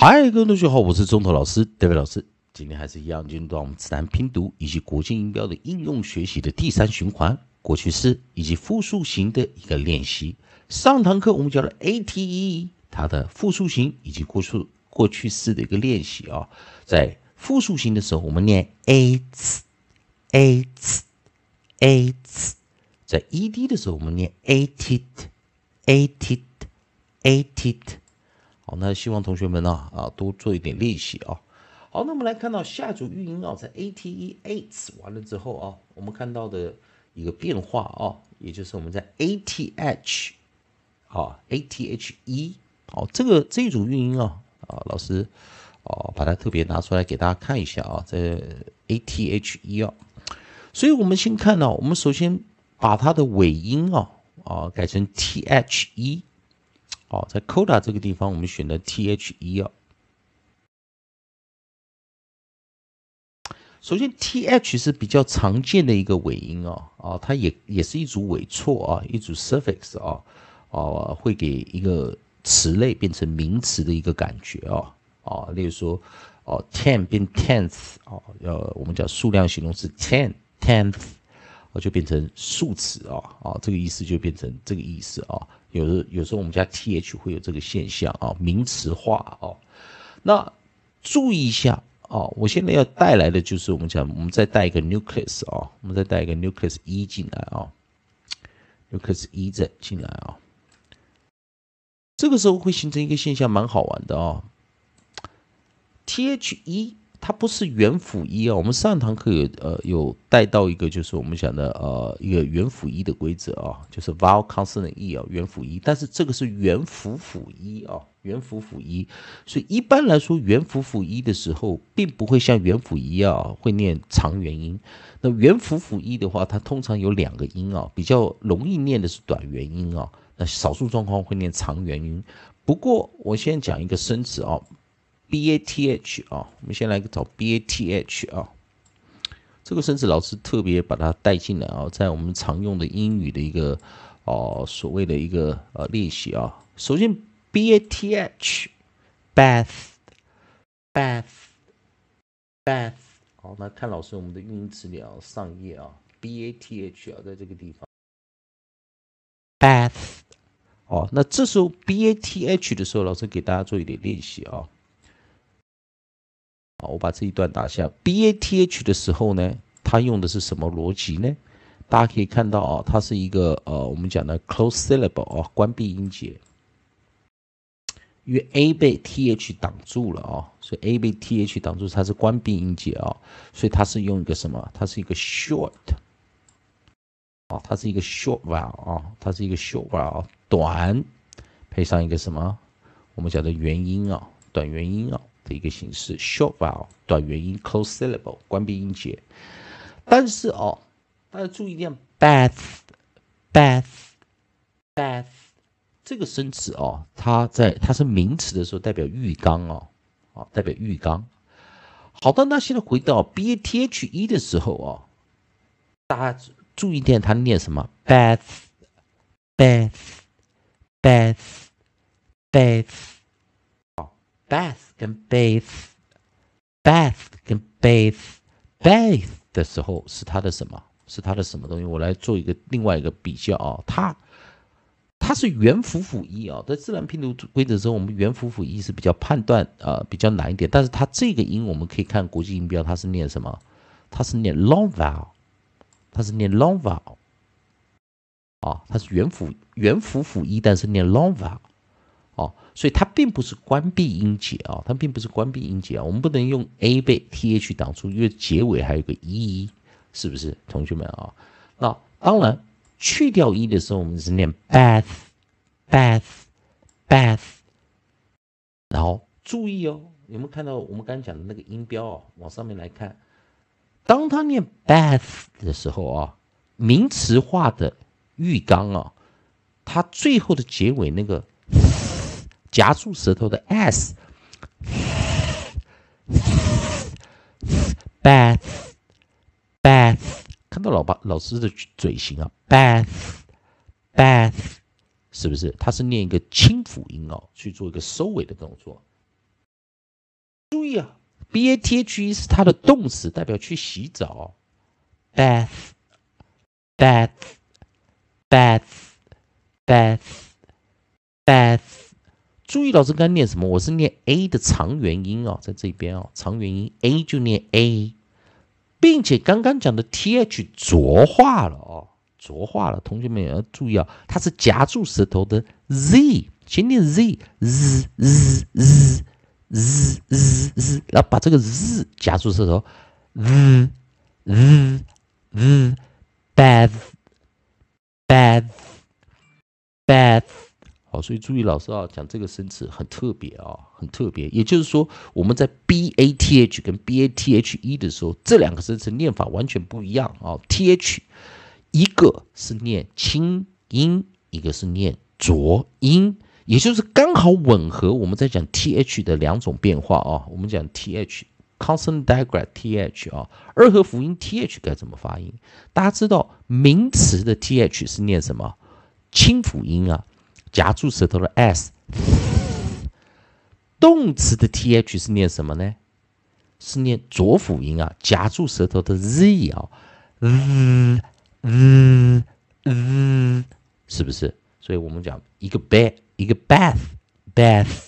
嗨，各位同学好，我是中头老师 David 老师。今天还是一样进入到我们自然拼读以及国际音标的应用学习的第3循环，过去式以及复数型的一个练习。上堂课我们教了 ATE 它的复数型以及过去式的一个练习啊。在复数型的时候，我们念 ATS， 在 ED 的时候，我们念 ATIT。好，那希望同学们多做一点练习啊。好，那我们来看到下组韵音在 ATE 完了之后我们看到的一个变化也就是我们在 ATH ATHE 这一组韵音老师把它特别拿出来给大家看一下在 ATHE 所以我们先看我们首先把它的尾音改成 THE。在 coda 这个地方，我们选的 THE 首先 TH 是比较常见的一个尾音它也是一组尾错一组 suffix 会给一个词类变成名词的一个感觉例如说10变 tenth 我们讲数量形容词 tenth 就变成数词这个意思就变成这个意思有时候我们加 th 会有这个现象名词化那注意一下我现在要带来的就是我们再带一个 nucleus 我们再带一个 nucleus 1进来nucleus 1再进来这个时候会形成一个现象蛮好玩的THE 它不是元辅一我们上堂课有带到一个就是我们讲的一个元辅一的规则就是 vowel consonant e 元辅一，但是这个是元辅辅一元辅辅一，所以一般来说元辅辅一的时候，并不会像元辅一会念长元音。那元辅辅一的话，它通常有2个音比较容易念的是短元音那少数状况会念长元音。不过我先讲一个生词BATH 我们先来找 BATH 这个生词老师特别把它带进来在我们常用的英语的一个所谓的一个练习首先 BATH bath 好，那看老师我们的韵音词典上页BATH 在这个地方 bath 那这时候 BATH 的时候，老师给大家做一点练习我把这一段打下 BATH 的时候呢，它用的是什么逻辑呢？大家可以看到它是一个我们讲的 close syllable 关闭音节，因为 A 被 TH 挡住了所以 A 被 TH 挡住，它是关闭音节所以它是用一个什么？它是一个 short 它是一个 short vowel 它是一个 short vowel 短，配上一个什么？我们讲的元音短元音的一个形式 short vowel 短元音 close syllable 关闭音节，但是大家注意一点 bath 这个生词它是名词的时候代表浴缸代表浴缸。好的，那现在回到 BATHE 的时候大家注意一点，它念什么 bath跟 bath 跟 bathe 的时候是它的什么？是它的什么东西？我来做另外一个比较它是元辅辅一在自然拼读规则中，我们元辅辅一是比较判断比较难一点，但是它这个音我们可以看国际音标，它是念什么？它是念 long vowel， 它是念 long vowel 它是元辅辅一，但是念 long vowel。所以它并不是关闭音节它并不是关闭音节我们不能用 A 被 TH 挡住，因为结尾还有个 E， 是不是，同学们那当然去掉 E 的时候，我们是念 bath， 然后注意有没有看到我们刚才讲的那个音标往上面来看，当它念 bath 的时候名词化的浴缸它最后的结尾那个夹住舌头的 s bath 看到老师的嘴型bath 是不是？它是念一个清辅音去做一个收尾的动作。 注意啊 ，bathe 是它的动词，代表去洗澡 ，bath bath bath bath bath。注意老师刚才念什么？我是念 a 的长元音哦，在这边哦，长元音 a 就念 a， 并且刚刚讲的 th 浊化了哦，浊化了，同学们也要注意啊，它是夹住舌头的 z， 先念 z z z z z z z， 然后把这个 z 夹住舌头 z z z bath bath bath。好，所以注意老师啊，讲这个生词很特别啊，很特别。也就是说，我们在 bath 跟 bathe 的时候，这两个生词念法完全不一样啊。th 一个是念清音，一个是念浊音，也就是刚好吻合我们在讲 th 的两种变化啊。我们讲 th consonant digraph th 啊，二合辅音 th 该怎么发音？大家知道名词的 th 是念什么？清辅音啊。夹住舌头的 s， 动词的 th 是念什么呢？是念浊辅音啊，夹住舌头的 z 啊，是不是？所以我们讲一个 bath， 一个 bath，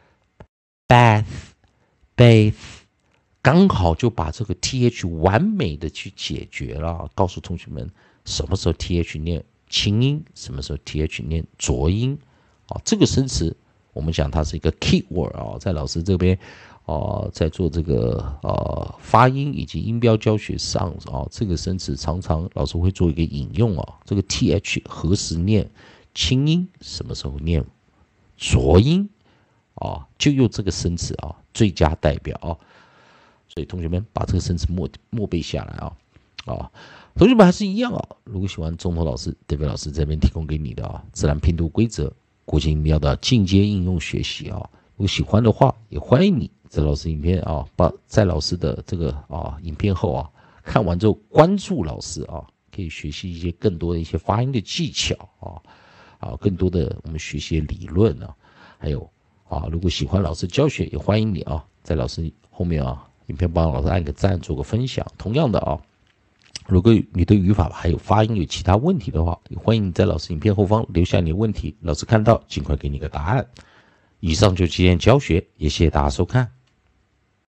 刚好就把这个 th 完美的去解决了。告诉同学们，什么时候 th 念清音，什么时候 th 念浊音，这个生词我们讲它是一个 key word 在老师这边在做这个发音以及音标教学上这个生词常常老师会做一个引用这个 th 何时念清音，什么时候念浊音就用这个生词最佳代表所以同学们把这个生词默背下来同学们还是一样如果喜欢中头老师、David 老师这边提供给你的自然拼读规则、国际音标的进阶应用学习如果喜欢的话，也欢迎你在老师影片在老师的这个影片后看完之后关注老师可以学习一些更多的一些发音的技巧更多的我们学习理论还有如果喜欢老师教学，也欢迎你在老师后面影片帮老师按个赞，做个分享。同样的如果你对语法还有发音有其他问题的话，也欢迎你在老师影片后方留下你的问题，老师看到尽快给你个答案。以上就是今天教学，也谢谢大家收看。